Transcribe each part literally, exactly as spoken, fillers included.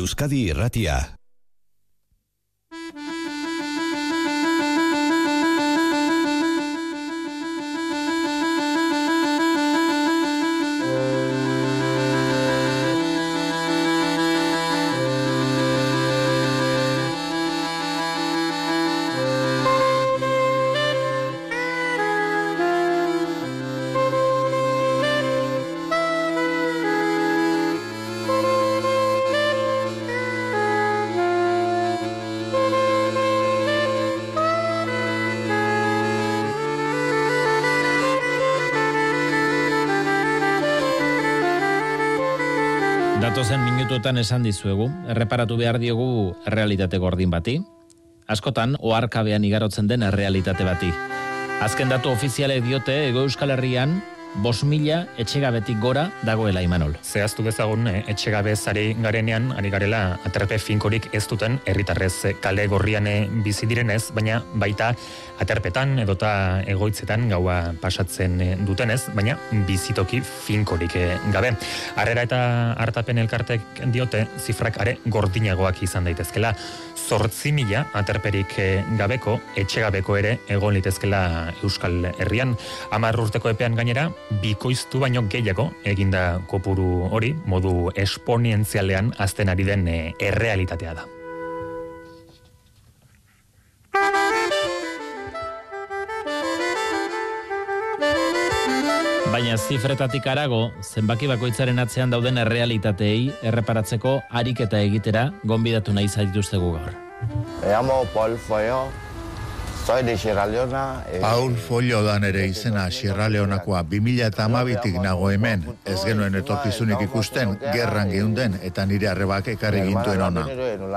Euskadi Irratia. Datozen minutuetan esan dizuegu, erreparatu behar diogu errealitate gordin bati, askotan oharkabean igarotzen den errealitate bati. Azken datu ofizialek diote Hego Euskal Herrian bost mila etxegabetik gora dagoela, Imanol. Zehaztu bezagun, etxegabe zari garenean, ari garela aterpe finkorik ez duten herritarrez kale gorrian bizi direnez, baina baita aterpetan edota egoitzetan gaua pasatzen dutenez, baina bizitoki finkorik gabe. Harrera eta hartapen elkartek diote zifrak are gordinagoak izan daitezkela. Zortzi mila aterperik gabeko, etxegabeko ere egon litezkela Euskal Herrian. Hamar urteko epean gainera, bikoiztu baino gehiago eginda kopuru hori, modu esponentzialean azten ari den errealitatea da. Baina zifretatik arago, zenbaki bakoitzaren atzean dauden errealitateei erreparatzeko ariketa egitera gonbidatu nahi zaituztegu gaur. Me llamo Paul Follo, soy de Sierra Leona. Eh... Paul Follo da nere izena, Sierra Leonakoa. bi mila hamabitik nago hemen, ez genuen etorkizunik ikusten, gerran geunden eta nire arrebak ekarri gintuen ona.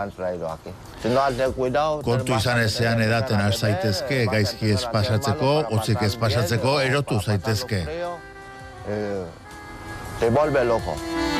Kontu izan ezean edaten has zaitezke, gaizki ez pasatzeko, hotzik ez pasatzeko, erotu zaitezke. Te vuelve loco.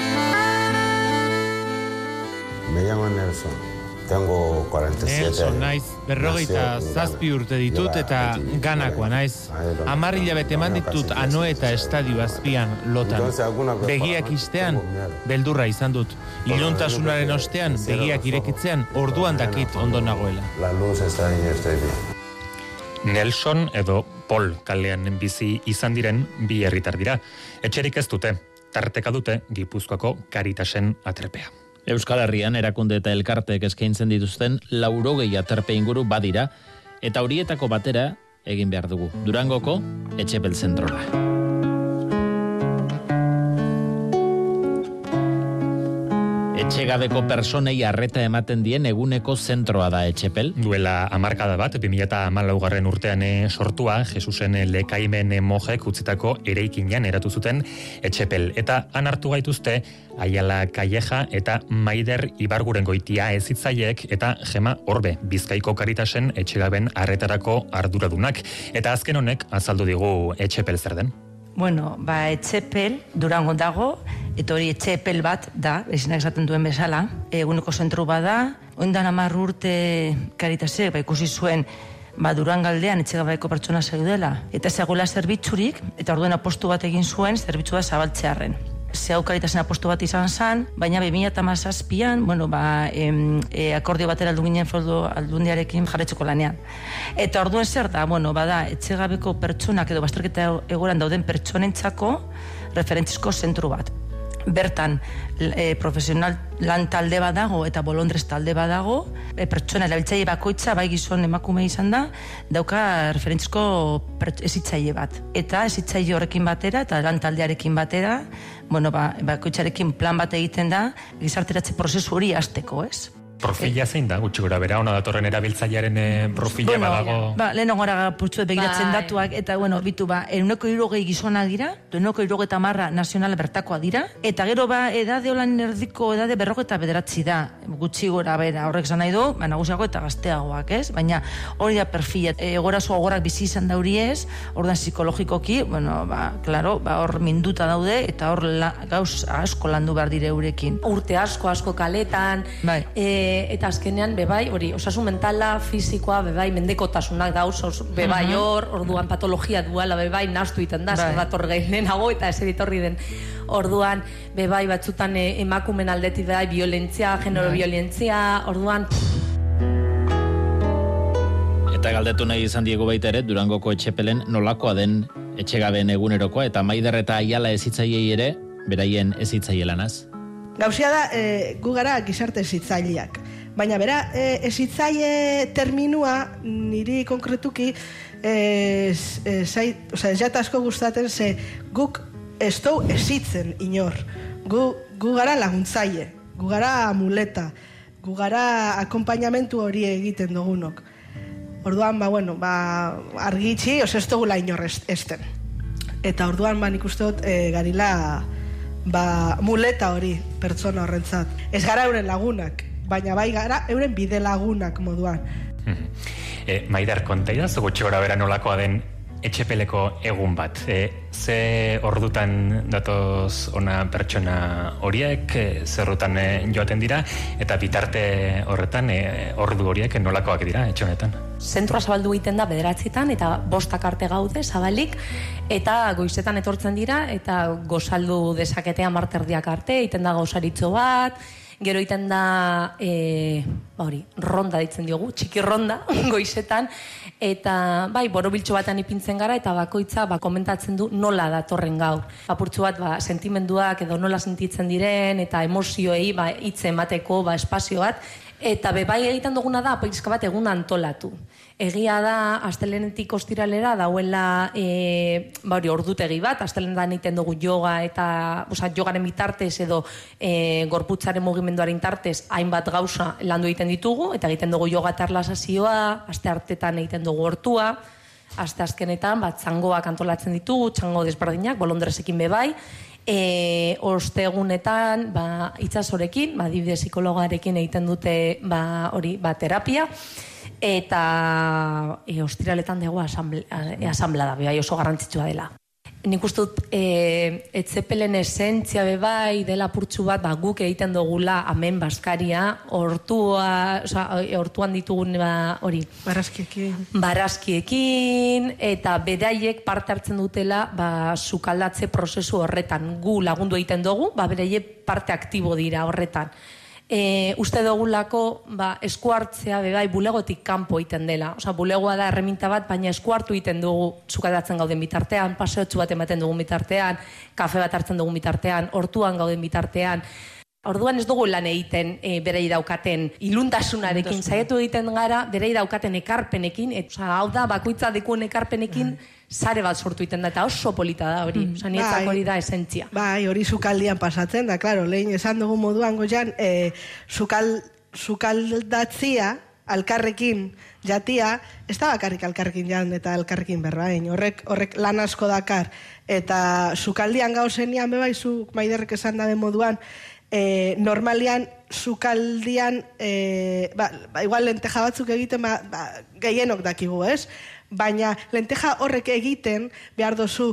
Me llamo Nelson. Tengo cuarenta y siete Nelson naiz, berrogeita zazpi urte ditut eta ganakoa naiz. Hamar hilabete eman ditut Anoeta estadio azpian lotan. Begiak istean, beldurra izan dut. Iluntasunaren ostean, begiak irekitzean, orduan dakit ondo nagoela. La luz está en este día. Nelson edo Paul kalean bizi izan diren bi herritar dira. Etxerik ez dute, tarteka dute Gipuzkoako Karitasen aterpea. Euskal Herrian erakunde eta elkarteek eskaintzen dituzten laurogei aterpe inguru badira, eta horietako batera egin behar dugu. Durangoko Etxepel zentrora. Etxegabeko personei arreta ematen dien eguneko zentroa da Etxepel. Duela hamarkada bat, bi mila hamalaugarren urtean sortua, Jesusen lekaimen mojek utzitako eraikinean eratu zuten Etxepel. Eta han hartu gaituzte Aiala Calleja eta Maider Ibargurengoitia ezitzaileek eta Gema Orbe, Bizkaiko Karitasen etxegaben arretarako arduradunak. Eta azken honek azaldu digu Etxepel zer den. Bueno, ba, Etxepel, Durango dago, eta hori Etxepel bat da, ezinak esaten duen bezala, eguneko zentru bada, oindan hamar urte Karitasek, ba, ikusi zuen, ba, Durangaldean etxegabeeko pertsona zeudela, eta zegoela zerbitzurik, eta orduen apostu bat egin zuen, zerbitzua zabaltzearren. Zehau Karitasen apostu bat izan zen, baina bi mila hamazazpian, bueno, ba, em, e, akordio batera aldu ginen foru aldundiarekin jarretzeko lanean. Eta orduen zer da, bueno, bada, etxegabeko pertsonak edo bazterketa egoran dauden pertsonentzako referentzizko zentru bat. Bertan, e, profesional lan talde badago eta bolondrez talde badago, e, pertsona erabiltzaile bakoitza, bai gizon emakume izan da, dauka referentzizko ezitzaile bat. Eta ezitzaile horrekin batera eta lan taldearekin batera, bueno, ba, bakoitzarekin plan bat egiten da, gizarteratze prozesu hori hasteko, ez? Profila zein da, gutxi gora bera, ona datorren erabiltzailearen eh, profila bueno, badago... Ba, lehen gora putxuet begiratzen bai. Datuak, eta, bueno, bitu, ba, euneko irrogei gizonak dira, euneko irrogei eta marra nazionala bertakoa dira, eta gero, ba, edade holan erdiko, edade berrogeta bederatzi da, gutxi gora bera, horrek zan nahi du, ba, nagusiago eta gazteagoak, ez? Baina, hori da perfila, e, gorazo agorak bizi izan dauri ez, ordan psikologikoki, bueno, ba, klaro, ba, hor minduta daude, eta hor la, gauz asko landu behar dire eurekin. Urte asko, asko kaletan, bai. e, E, eta azkenean, bebai, hori, osasun mentala, fisikoa, bebai, mendekotasunak dauz, os, bebai hor, orduan patologia duala, bebai, nastu iten da, zer dator gehiago eta ez editorri den. Orduan, bebai, batzutan e, emakumen aldetik, bebai, violentzia, genero violentzia, orduan... Eta galdetu nahi izan diego baita ere, Durangoko etxepelen nolakoa den etxegabeen egunerokoa, eta Maider eta Aiala ezitzaiei ere, beraien ezitzailelanaz. Gauzia da, e, gu gara gizarte ezitzaileak. Baina bera, e, ezitzaile terminua niri konkretuki e, e, zai, oza, ez jata asko gustaten ze guk ez dou ezitzen inor. Gu, gu gara laguntzaile, gu gara muleta, gu gara akompainamentu hori egiten dugunok. Orduan, ba, bueno, ba, argitxi, oz ez dugula inor esten. Eta orduan, ba, nik uste dut, e, garila, ba, muleta hori, pertsona horrentzat. Ez gara euren lagunak, baina bai gara euren bide lagunak moduan. e, Maider, konta idazu gutxi gora bera nolakoa den etxepeleko egun bat. E, ze ordutan datoz ona pertsona horiek, e, zerrutan e, joaten dira, eta bitarte horretan e, ordu horiek nolakoak dira etxe honetan? Zentroa zabaldu egiten da bederatzitan eta bostak arte gaude zabalik, eta goizetan etortzen dira eta gozaldu dezaketean marterdiak arte, egiten da gauzaritzo bat, gero egiten da e, ba hori, ronda ditzen diogu, txiki ronda goizetan, eta bai, borobiltxo batean ipintzen gara eta bakoitza ba, komentatzen du nola datorren gaur. Apurtxo bat, ba, sentimenduak edo nola sentitzen diren eta emozioei ba, hitz emateko ba, espazio bat, eta bebai egiten duguna da pizka bat egun antolatu. Egia da, astelenetik ostiralera dauela e, ba hori, ordutegi bat, astelenetan egiten dugu yoga eta oza, jogaren bitartez edo e, gorputzaren mugimenduaren tartez hainbat gauza landu egiten ditugu, eta egiten dugu yoga eta erlazazioa, aste hartetan egiten dugu hortua, aste azkenetan bat txangoak antolatzen ditugu, txango desberdinak, bolondresekin bebai, E, ostegunetan ba, itxasorekin, ba, adibide psikologarekin egiten dute ba, hori, ba, terapia, eta e, ostiraletan dugu asamblea da, bai oso garrantzitsua dela. Nik uste dut e, etzepelen esentzia bebai dela purtsu bat ba, guk egiten dugula amen baskaria, hortua, oza, hortuan ditugun ba, hori. Barazkiekin. Barazkiekin, eta beraiek parte hartzen dutela ba, sukaldatze prozesu horretan. Gu lagundu egiten dugu, ba, beraiek parte aktibo dira horretan. E, uste dugulako ba, esku hartzea bebai bulegotik kanpo egiten dela. Osa, bulegoa da erreminta bat, baina esku hartu egiten dugu sukaldatzen gauden bitartean, paseotxu bat ematen dugun bitartean, kafe bat hartzen dugun bitartean, hortuan gauden bitartean. Orduan ez dugu lan egiten e, berei daukaten iluntasunarekin, saiatu egiten gara berei daukaten ekarpenekin, et, oza, hau da, bakoitza dekuen ekarpenekin, sare bat sortu egiten da, eta oso polita da hori, oza, nietzak hori da esentzia. Bai, hori sukaldian pasatzen da, klaro, lehin esan dugu moduan goian, e, sukal, sukaldatzia, alkarrekin jatia, ez da bakarrik alkarrekin jan eta alkarrekin berbain, horrek, horrek lan asko dakar, eta sukaldian gauzenian bebaizu, Maiderrek esan dabe moduan, E, normalian, sukaldian, e, ba, ba, igual lenteja batzuk egiten, ba, ba, gehienok dakigu, ez? Baina lenteja horrek egiten behar dozu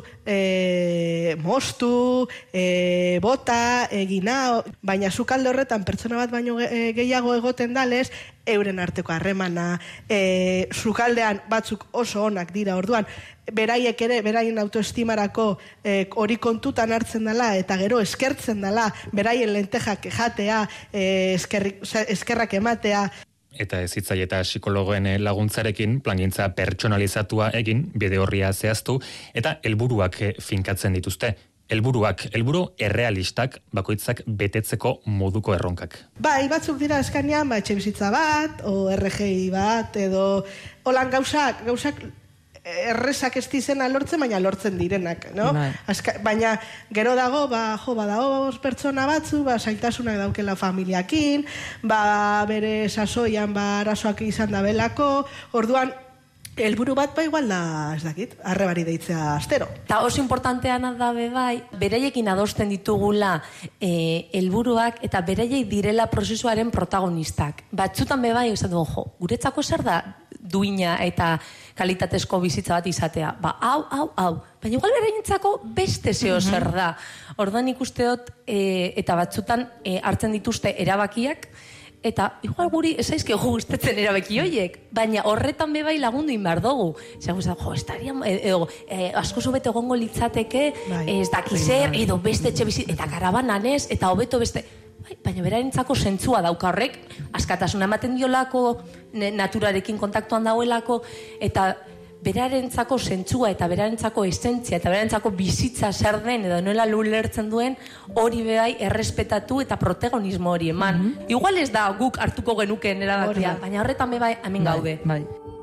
e, mostu, e, bota, egina, baina sukalde horretan pertsona bat baino gehiago egoten dalez, euren arteko harremana, e, sukaldean batzuk oso onak dira, orduan, beraiek ere, beraien autoestimarako e, hori kontutan hartzen dela, eta gero eskertzen dela, beraien lentejak jatea, e, eskerrik, eskerrak ematea, Eta ezitzaile eta psikologoen laguntzarekin plangintza pertsonalizatua egin, bide horria zehaztu, eta helburuak finkatzen dituzte. Helburuak, helburu errealistak, bakoitzak betetzeko moduko erronkak. Bai, batzuk dira eskanean, ba, etxe bizitza bat, o R G I bat, edo holan gauzak, gauzak errezak ez dizena lortzen, baina lortzen direnak, no? Azka, baina gero dago, ba, jo, ba, dago pertsona batzu, ba, zaitasunak daukela familiakin, ba, bere sasoian, ba, arazoak izan da belako, orduan, helburu bat ba igual da, ez dakit, arrebari deitzea astero. Ta oso importantean da bebai, bereiekin adosten ditugula eh, helburuak eta bereiek direla prozesuaren protagonistak. Batzutan bebai, esan dugu, jo, guretzako zer da duina eta kalitatezko bizitza bat izatea. Ba, hau, hau, hau. Baina igual beraientzako beste zeo zer da. Orduan ikusteot, e, eta batzutan e, hartzen dituzte erabakiak, eta igual guri esaizke gustatzen erabaki horiek, baina horretan be bai lagundu inbar dugu. Zer, jo, estaria, edo, e, asko zubete egongo litzateke, ez dakizer, edo beste etxe bizit, eta karabanan ez, eta hobeto beste... Bai, baina berarentzako zentzua dauka horrek, askatasuna ematen diolako, naturarekin kontaktuan dauelako, eta berarentzako zentzua eta berarentzako esentzia eta berarentzako bizitza zer den edo nola ulertzen duen hori bai errespetatu eta protagonismo hori eman. Mm -hmm. Igual ez da guk hartuko genuken erabakia, baina horretan be bai hemen gaude. Bai.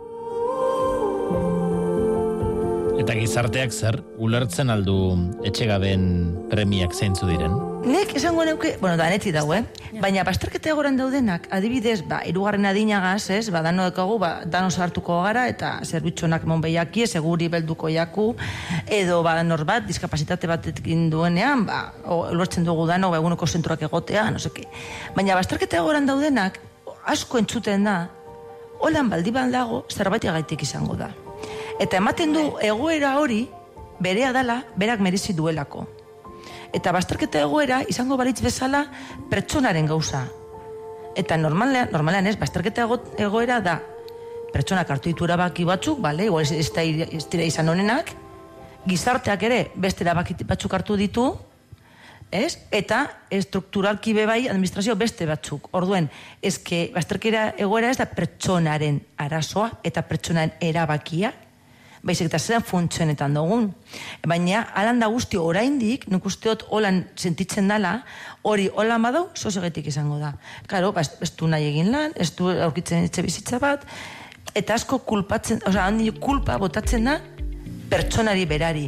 Eta gizarteak zer, ulertzen aldu etxegabeen premiak zeintzu diren? Nek esango neuke, bueno, da neti dago, eh? Baina bazterketa egoran daudenak, adibidez, ba, irugarren adinagaz, ez, ba, dano dekagu, ba, dano sartuko gara, eta zerbitxonak mon behiaki, seguri belduko jaku, edo, ba, norbat, diskapazitate batekin duenean, ba, lortzen dugu dano, ba, eguneko zenturak egotea, no seke. Baina bazterketa egoran daudenak, asko entzuten da, holan baldi baldago, zerbaitiagaitik izango da. Eta ematen du, egoera hori, berea dala, berak merezi duelako. Eta bazterketa egoera izango balitz bezala pertsonaren gauza. Eta normalean, normalean ez, bazterketa egoera da pertsonak hartu ditu erabaki batzuk, bale, igual ez, ez dira izan honenak, gizarteak ere beste erabaki batzuk hartu ditu, ez? Eta estrukturalki bebai administrazio beste batzuk. Orduen, ezke bazterketa egoera ez da pertsonaren arazoa eta pertsonaren erabakia, baizik eta zeran funtzionetan dugun. Baina, alan da guzti oraindik, nik usteot holan sentitzen dala, hori holan badau, sosegetik izango da. Karo, ba, ez du nahi egin lan, ez du aurkitzen etxe bizitza bat, eta asko kulpatzen, oza, handi kulpa botatzen da pertsonari berari.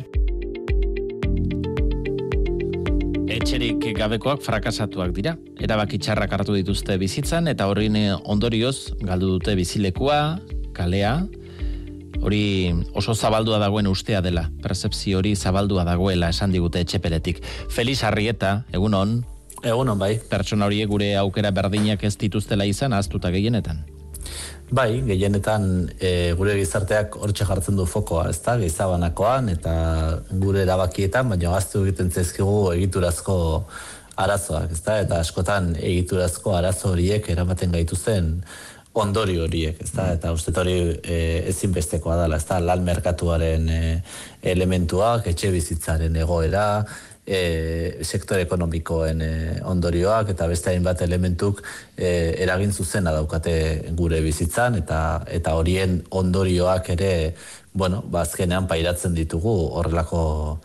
Etxerik gabekoak frakasatuak dira. Erabaki txarrak hartu dituzte bizitzan, eta horrin ondorioz galdu dute bizilekua, kalea. Hori oso zabaldua dagoen ustea dela, percepzio hori zabaldua dagoela esan digute etxepeletik. Felix Arrieta, egunon. Egunon, bai. Pertsona horiek gure aukera berdinak ez dituztela izan, ahaztuta gehienetan. Bai, gehienetan e, gure gizarteak hortxe jartzen du fokoa, ezta, gizabanakoan eta gure erabakietan, baina gaztu egiten zaizkigu egiturazko arazoak, ezta, eta askotan egiturazko arazo horiek eramaten gaituzten ondori horiek, ezta, eta uste hori e, ezinbestekoa dela, ezta, lan merkatuaren e, elementuak, etxe bizitzaren egoera, e, sektore ekonomikoen e, ondorioak, eta beste hainbat elementuk e, eragin zuzena daukate gure bizitzan, eta eta horien ondorioak ere, bueno, bazkenean pairatzen ditugu horrelako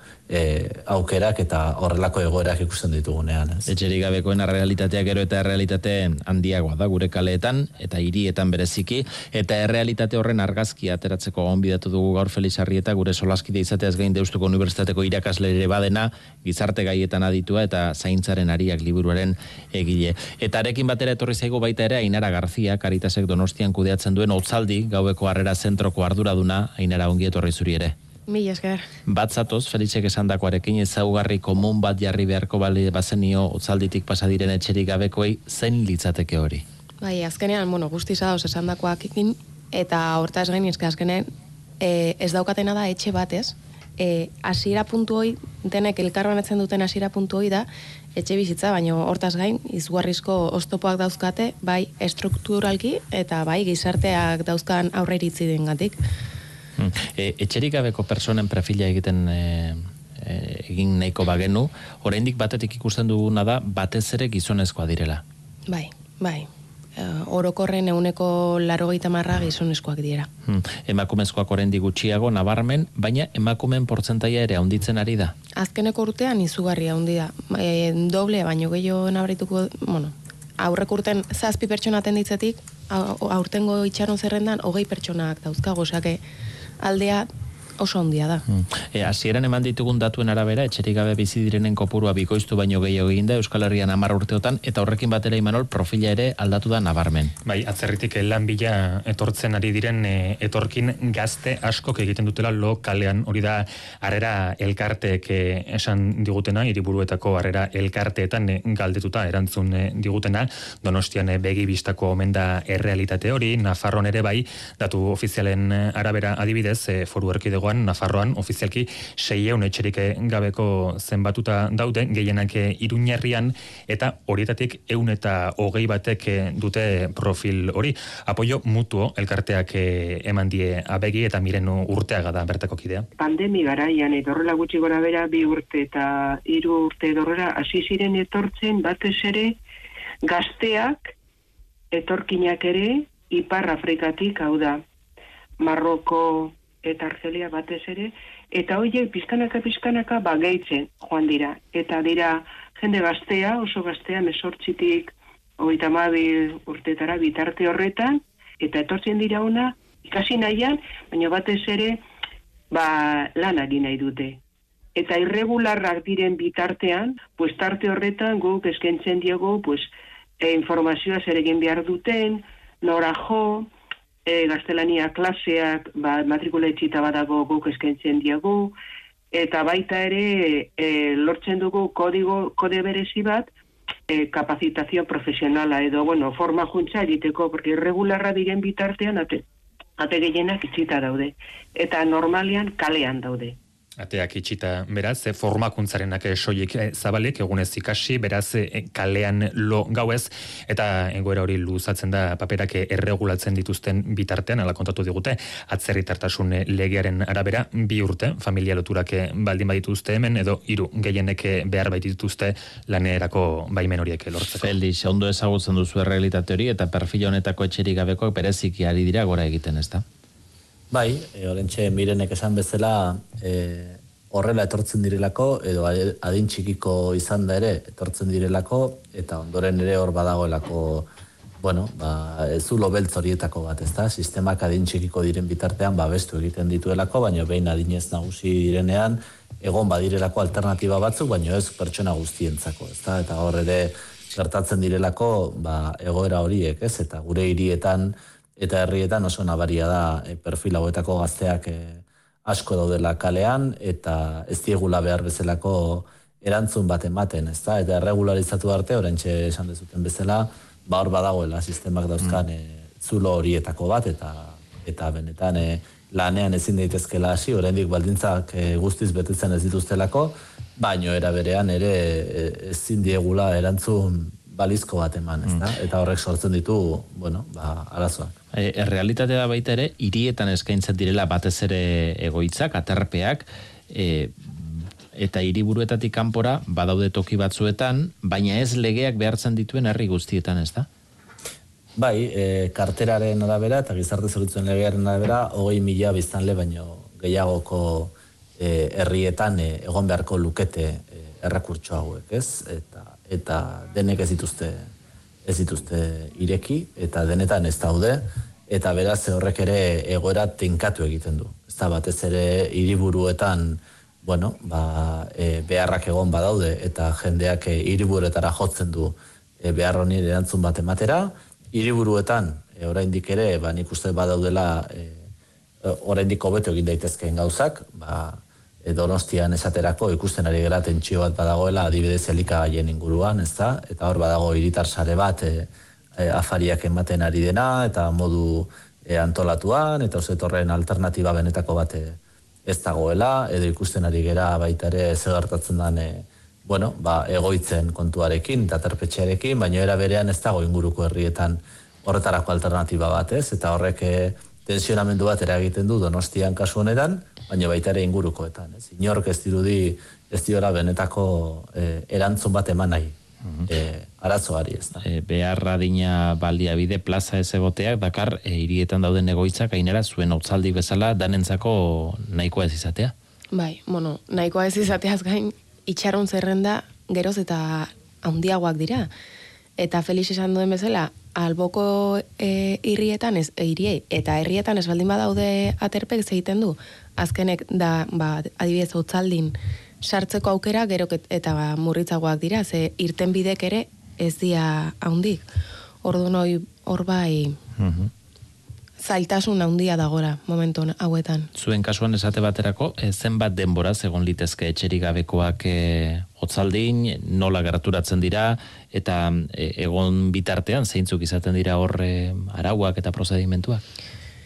E, aukerak eta horrelako egoerak ikusten ditugunean. Ez? Etxerik gabekoen errealitatea gero eta errealitate handiagoa da gure kaleetan eta hirietan bereziki, eta errealitate horren argazkia ateratzeko gonbidatu dugu gaur Felix Arrieta, gure solaskide izateaz gain Deustuko Unibertsitateko irakasle ere badena, gizarte gaietan aditua eta zaintzaren ariak liburuaren egile. Eta arekin batera etorri zaigu baita ere Ainara Garzia, Caritasek Donostian kudeatzen duen Otzaldi gaueko harrera zentroko arduraduna. Ainara, ongi etorri zuri ere. Mila esker. Bat zatoz, Felixek esandakoarekin ezaugarri komun bat jarri beharko bali bazenio Otzalditik pasadiren etxerik gabekoei, zein litzateke hori? Bai, azkenean, bueno, guztiz dauz esandakoakekin, eta hortaz gain izke azkenean, e, ez daukatena da etxe batez, e, hasiera puntu hoi, denek elkarbanatzen duten hasiera puntu hoi da, etxe bizitza, baina hortaz gain, izugarrizko oztopoak dauzkate, bai estrukturalki, eta bai gizarteak dauzkan aurreiritzi dengatik. E, etxerik gabeko personen perfila egiten e, e, egin nahiko bagenu, oraindik batetik ikusten duguna da batez ere gizonezkoa direla. Bai, bai. E, orokorren euneko laurogeita hamar gizonezkoak dira. Hmm. Emakumezkoak oraindik gutxiago nabarmen, baina emakumeen portzentaia ere handitzen ari da. Azkeneko urtean izugarria handi da. E, doble baino gehiago nabarituko, bueno, aurrek urten zazpi pertsona atenditzetik, aurtengo itxaron zerrendan hogei pertsonak dauzkago, osake aldea oso handia da. E, hasieran eman ditugun datuen arabera, etxerik gabe bizi direnen kopurua bikoiztu baino gehiago egin da Euskal Herrian hamar urteotan, eta horrekin batera Imanol profila ere aldatu da nabarmen. Bai, atzerritik lan bila etortzen ari diren e, etorkin gazte askok egiten dutela lo kalean, hori da harrera elkarteek e, esan digutena, hiriburuetako harrera elkarteetan e, galdetuta erantzun e, digutena, Donostian e, begi bistako omen da errealitate hori, Nafarroan ere bai, datu ofizialen arabera adibidez, e, Foru Erkidegoa Nafarroan, Nafarroan ofizialki seiehun etxerik gabeko zenbatuta daude, gehienak Iruñerrian, eta horietatik ehun eta hogei batek dute profil hori. Apoio mutuo elkarteak eman die abegi eta miren urteaga da bertako kidea. Pandemi garaian eta horrela gutxi gora bera bi urte eta hiru urte dorrera hasi ziren etortzen batez ere gazteak etorkinak ere Ipar Afrikatik, hau da Marroko eta Argelia batez ere, eta horiek pizkanaka pizkanaka ba gehitzen joan dira. Eta dira jende gaztea, oso gaztea, mesortzitik hogeita hamabi urtetara bitarte horretan, eta etortzen dira ona ikasi nahian, baina batez ere ba lanari nahi dute. Eta irregularrak diren bitartean, pues tarte horretan guk eskaintzen diogu, pues e, informazioa zer egin behar duten, nora jo, e, gaztelania klaseak, ba, matrikula etxita badago guk eskaintzen diogu, eta baita ere e, lortzen dugu kodigo, kode berezi bat, e, kapazitazio profesionala edo, bueno, forma juntza egiteko, porque irregularra diren bitartean ate, ate gehienak itxita daude, eta normalian kalean daude. Ateak itxita, beraz, e, formakuntzarenak soilik e, zabalik, egunez ikasi, beraz, e, kalean lo gauez, eta egoera hori luzatzen da paperak erregulatzen dituzten bitartean, ala kontatu digute, atzerritartasun legearen arabera, bi urte, familia loturak baldin badituzte hemen, edo hiru gehienek behar baitituzte lanerako baimen horiek lortzeko. Felix, ondo ezagutzen duzu errealitate hori, eta perfil honetako etxerik gabekoak bereziki ari dira gora egiten, ezta? Bai, e, orentxe mirenek esan bezala e, horrela etortzen direlako, edo adin txikiko izan da ere etortzen direlako, eta ondoren ere hor badagoelako, bueno, ba, zulo beltz horietako bat, ezta? Sistemak adin txikiko diren bitartean babestu egiten dituelako, baina behin adinez nagusi direnean, egon badirelako alternatiba batzuk, baina ez pertsona guztientzako, ezta? Eta hor ere gertatzen direlako ba, egoera horiek, ez? Eta gure hirietan eta herrietan oso nabaria da e, perfil hauetako gazteak e, asko daudela kalean, eta ez diegula behar bezalako erantzun bat ematen, ezta? Eta erregularizatu arte, orentxe esan dezuten bezala, ba hor badagoela sistemak dauzkan e, zulo horietako bat, eta eta benetan e, lanean ezin daitezkela hasi, oraindik baldintzak e, guztiz betetzen ez dituztelako, baino era berean ere e, ezin diegula erantzun balizko bat eman, ezta? Eta horrek sortzen ditu, bueno, ba, arazoak. E, errealitatea da baita ere, hirietan eskaintzen direla batez ere egoitzak, aterpeak, e, eta hiriburuetatik kanpora badaude toki batzuetan, baina ez legeak behartzen dituen herri guztietan, ezta? Bai, e, karteraren arabera eta gizarte zerbitzuen legearen arabera, hogei mila biztanle baino gehiagoko e, herrietan e, egon beharko lukete e, errekurtso hauek, ez? Eta eta denek ez dituzte ez dituzte ireki, eta denetan ez daude, eta beraz horrek ere egoera tenkatu egiten du. Ez da batez ere hiriburuetan, bueno, ba, e, beharrak egon badaude, eta jendeak e, hiriburuetara jotzen du e, behar honi erantzun bat ematera. Hiriburuetan, e, oraindik ere, ba, nik uste badaudela e, oraindik hobeto egin daitezkeen gauzak, ba, Donostian esaterako ikusten ari gara tentsio bat badagoela adibidez elikagaien inguruan, ezta? Eta hor badago hiritar sare bat e, e, afariak ematen ari dena, eta modu e, antolatuan, eta osetorren alternatiba benetako bat e, ez dagoela, edo ikusten ari gara baita ere zer gertatzen den e, bueno, ba, egoitzen kontuarekin eta terpetxearekin, baina era berean ez dago inguruko herrietan horretarako alternatiba bat, ez? Eta horrek e, tensionamendu bat eragiten du Donostian kasu honetan, baina baita ere ingurukoetan. Ez? Inork ez dirudi ez diora benetako e, erantzun bat eman nahi. E, arazoari ez da. E, behar adina baliabide plaza ez egoteak, dakar e, hirietan dauden egoitzak gainera zuen hautzaldi bezala danentzako nahikoa ez izatea? Bai, bueno, nahikoa ez izateaz gain, itxarron zerrenda geroz eta handiagoak dira. Eta Felix esan duen bezala, alboko e, irrietan, ez, e, iriei, eta herrietan ez baldin badaude aterpek egiten du, azkenek da, ba, adibidez hautzaldin sartzeko aukera, gero eta ba, murritzagoak dira, ze irten bidek ere ez dia haundik. Orduan hori hor bai uh-huh. zailtasun handia dagora momentu hauetan. Zuen kasuan esate baterako, e, zenbat denbora egon litezke etxerik gabekoak e, hotzaldin, nola gerturatzen dira, eta e, egon bitartean zeintzuk izaten dira hor e, arauak eta prozedimentuak?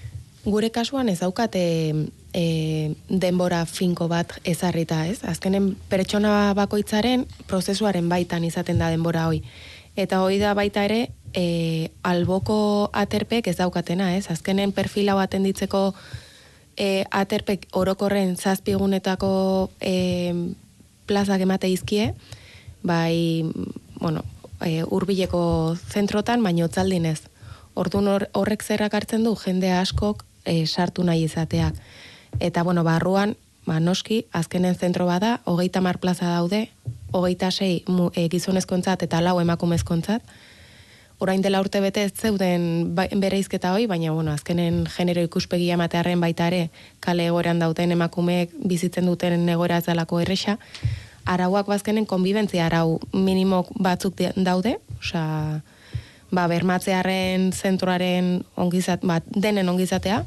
gure kasuan ez daukate e, denbora finko bat ezarrita, ez? Azkenen pertsona bakoitzaren prozesuaren baitan izaten da denbora hoi. Eta hoi da baita ere, e, alboko aterpek ez daukatena, ez? Azkenen perfila bat enditzeko e, aterpek orokorren zazpigunetako e, plazak emate izkie, bai, bueno, e, urbileko zentrotan, baino otzaldinez. Orduan horrek zerrak hartzen du, jende askok e, sartu nahi izateak. Eta, bueno, barruan, ba, noski, azkenen zentro bada, hogeita mar plaza daude, hogeita sei e, gizonezkontzat eta lau emakumezkontzat. Orain dela urte bete ez zeuden ba, bereizketa hoi, baina, bueno, azkenen genero ikuspegia ematearen baita ere, kale egoeran dauten emakumeek bizitzen duten egoera ez dalako erresa, arauak bazkenen konbibentzia arau minimo batzuk daude, osea, ba, bermatzearen zentroaren ongizat, ba, denen ongizatea,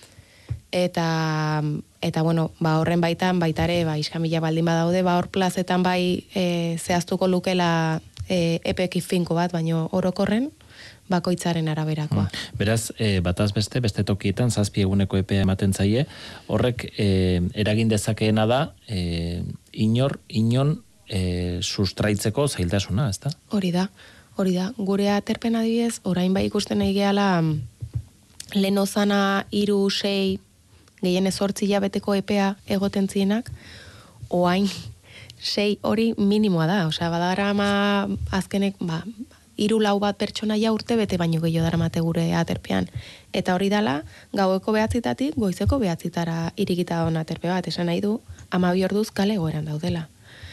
eta, eta bueno, ba, horren baitan, baitare, ba, iskamila baldin badaude, ba, hor plazetan bai e, zehaztuko lukela e, epeki finko bat, baino orokorren, bakoitzaren araberakoa. Hmm. Beraz, e, bataz beste, beste tokietan, zazpi eguneko epea ematen zaie, horrek e, eragin dezakeena da, e, inor, inon e, sustraitzeko zailtasuna, ezta? Hori da. Hori da, gure aterpen adibidez, orain bai ikusten egiala lehen ozana iru, sei, gehien ezortzi jabeteko epea egoten zienak, oain sei hori minimoa da, osea, badara ama azkenek, ba, iru lau bat pertsonaia urte bete baino gehiago daramate gure aterpean. Eta hori dala, gaueko behatzitatik, goizeko behatzitara irikita duen aterpe bat, esan nahi du, amabi orduz kale egoeran daudela.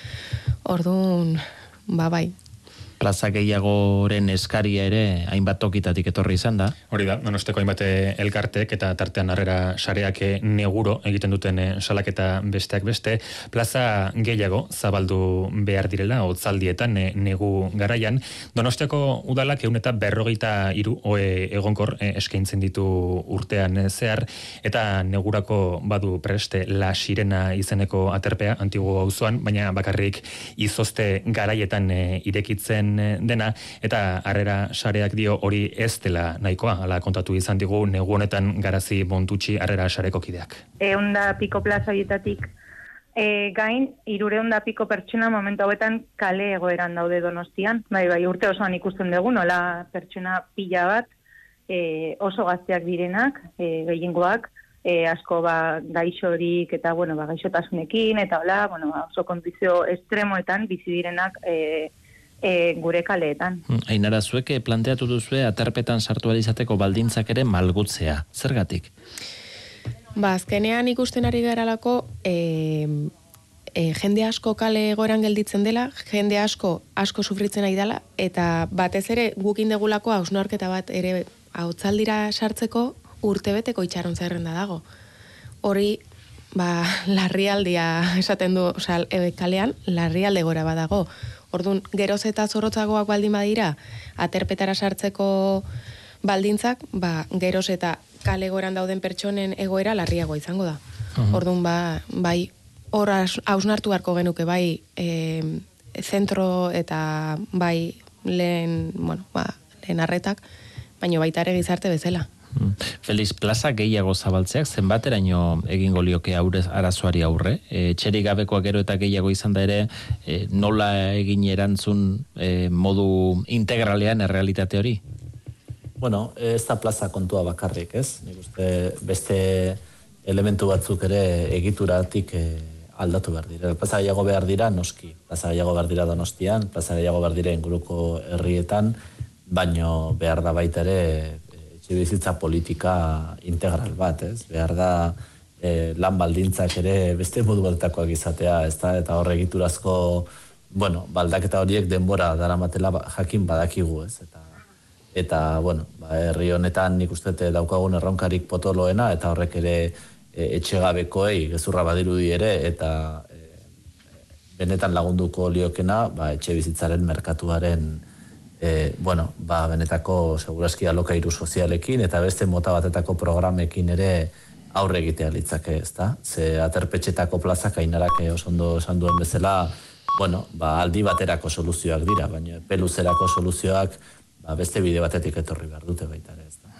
Orduan, ba bai. Plaza gehiagoren eskaria ere hainbat tokitatik etorri izan da. Hori da, Donosteko hainbat elkartek eta tartean harrera sareak neguro egiten duten salaketa besteak beste, plaza gehiago zabaldu behar direla otzaldietan negu garaian. Donosteko udalak ehun eta berrogeita hiru ohe egonkor eskaintzen ditu urtean zehar, eta negurako badu preste La Sirena izeneko aterpea Antiguo auzoan, baina bakarrik Izozte garaietan irekitzen dena, eta harrera sareak dio hori ez dela nahikoa, ala kontatu izan digu negu honetan Garazi Bontutxi harrera sareko kideak. Eunda piko plaza hietatik e, gain, irureunda piko pertsona momentu hauetan kale egoeran daude Donostian. Bai, bai, urte osoan ikusten dugu, nola pertsona pila bat, e, oso gazteak direnak, e, gehiengoak, e, asko ba, gaixorik eta bueno, ba, gaixotasunekin, eta hola, bueno, oso kondizio estremoetan bizi direnak e, E, gure kaleetan. Ainara, zuek planteatu duzue aterpetan sartu izateko baldintzak ere malgutzea. Zergatik? Ba, azkenean ikusten ari garalako e, e, jende asko kale egoeran gelditzen dela, jende asko asko sufritzen ari dela, eta batez ere gukin degulako hausnarketa bat ere hautzaldira sartzeko urtebeteko itxaron zerrenda dago. Hori, ba, larrialdia esaten du, osea, e, kalean larrialde gora badago. Orduan, geroz eta zorrotzagoak baldin badira, aterpetara sartzeko baldintzak, ba, geroz eta kale goran dauden pertsonen egoera larriagoa izango da. Uh-huh. Orduan, ba, bai, hor hausnartu beharko genuke, bai, e, zentro eta bai, lehen, bueno, ba, lehen arretak, baina baita ere gizarte bezala. Feliz, plaza gehiago zabaltzeak zenbateraino egingo lioke aurrez arazoari aurre? E, txerik gabekoak gero eta gehiago izan da ere, e, nola egin erantzun e, modu integralean errealitate hori? Bueno, ez da plaza kontua bakarrik, ez? Nik uste beste elementu batzuk ere egituratik e, aldatu behar dira. Plaza gehiago behar dira noski, plaza gehiago behar dira Donostian, plaza gehiago behar dira inguruko herrietan, baino behar da baita ere bizitza politika integral bat, ez? Behar da e, lan baldintzak ere beste modu baltakoak izatea, ez da? Eta horre egiturazko, bueno, baldaketa horiek denbora daramatela jakin badakigu, ez? Eta, eta bueno, ba, herri honetan nik uste daukagun erronkarik potoloena, eta horrek ere e, etxegabekoei gezurra badirudi ere, eta e, benetan lagunduko liokena, ba, etxe bizitzaren merkatuaren E, bueno, ba, benetako segurazki alokairu sozialekin eta beste mota batetako programekin ere aurre egitea litzake, ezta? Ze aterpetxetako plazak Ainarak oso ondo esan duen bezala, bueno, ba, aldi baterako soluzioak dira, baina peluzerako soluzioak ba, beste bide batetik etorri behar dute baita ere, ezta?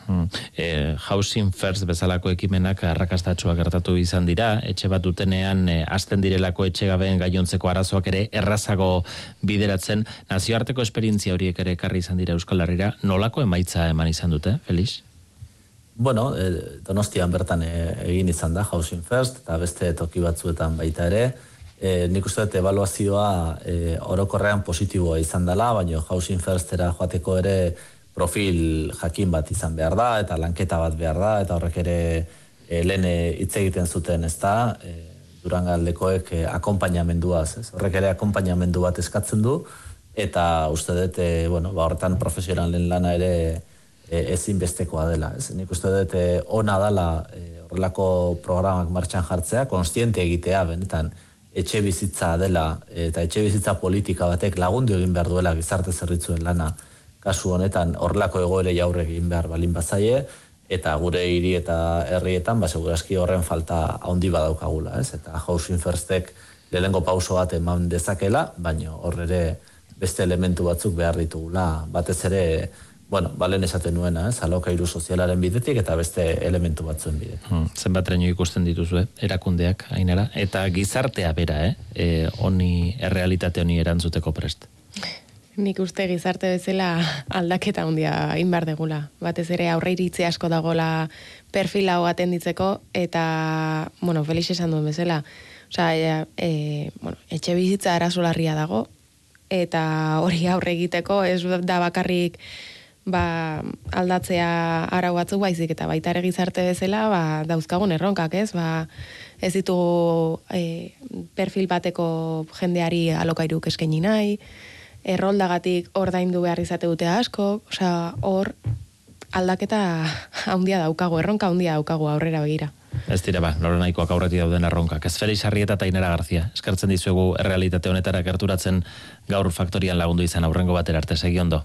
Hmm. E, Housing First bezalako ekimenak arrakastatxoak gertatu izan dira, etxe bat dutenean e, azten direlako etxegabeen gainontzeko arazoak ere errazago bideratzen. Nazioarteko esperientzia horiek ere ekarri izan dira Euskal Herrira, nolako emaitza eman izan dute, Felix? Bueno, e, Donostian bertan e, egin izan da Housing First, eta beste toki batzuetan baita ere. E, nik uste dut evaluazioa e, orokorrean positiboa izan dela, baina Housing Firstera joateko ere profil jakin bat izan behar da, eta lanketa bat behar da, eta horrek ere e, lehen hitz egiten zuten, ez da, e, Durangaldekoek e, akompainamenduaz, ez? Horrek ere akompainamendu bat eskatzen du, eta uste dut, e, bueno, ba, horretan profesionalen lana ere e, ezinbestekoa dela, ez? Nik uste dut e, ona dela e, horrelako programak martxan jartzea, konstiente egitea, benetan, etxe bizitza dela, eta etxe bizitza politika batek lagundu egin behar duela gizarte zerbitzuen lana, kasu honetan horrelako egoere jaurre egin behar balin bazaie, eta gure hiri eta herrietan, ba, segurazki horren falta handi badaukagula, ez? Eta Housing Firstek lehengo pauso bat eman dezakela, baina hor ere beste elementu batzuk behar ditugula, batez ere, bueno, balen esaten nuena, ez? Alokairu sozialaren bidetik eta beste elementu batzuen bidetik. Hmm, zenbatreño ikusten dituzue, erakundeak, Ainara, eta gizartea bera, eh? E, honi, errealitate honi erantzuteko prest. Nik uste gizarte bezala aldaketa handia egin behar degula. Batez ere aurre iritzi asko dagoela perfil hau atenditzeko, eta, bueno, Felix esan duen bezala, osea, e, bueno, etxe bizitza arazolarria dago, eta hori aurre egiteko ez da bakarrik ba, aldatzea arau batzuk baizik, eta baita ere gizarte bezala ba, dauzkagun erronkak, ez? Ba, ez ditugu e, perfil bateko jendeari alokairuk eskaini nahi, erroldagatik ordaindu behar izate dute asko, osea, hor aldaketa handia daukagu, erronka handia daukagu aurrera begira. Ez dira ba, nora nahikoak aurretik dauden erronkak. Ez Felix Arrieta eta Ainara Garzia, eskertzen dizuegu errealitate honetara gerturatzen gaur faktorian lagundu izan aurrengo batera arte, segi ondo.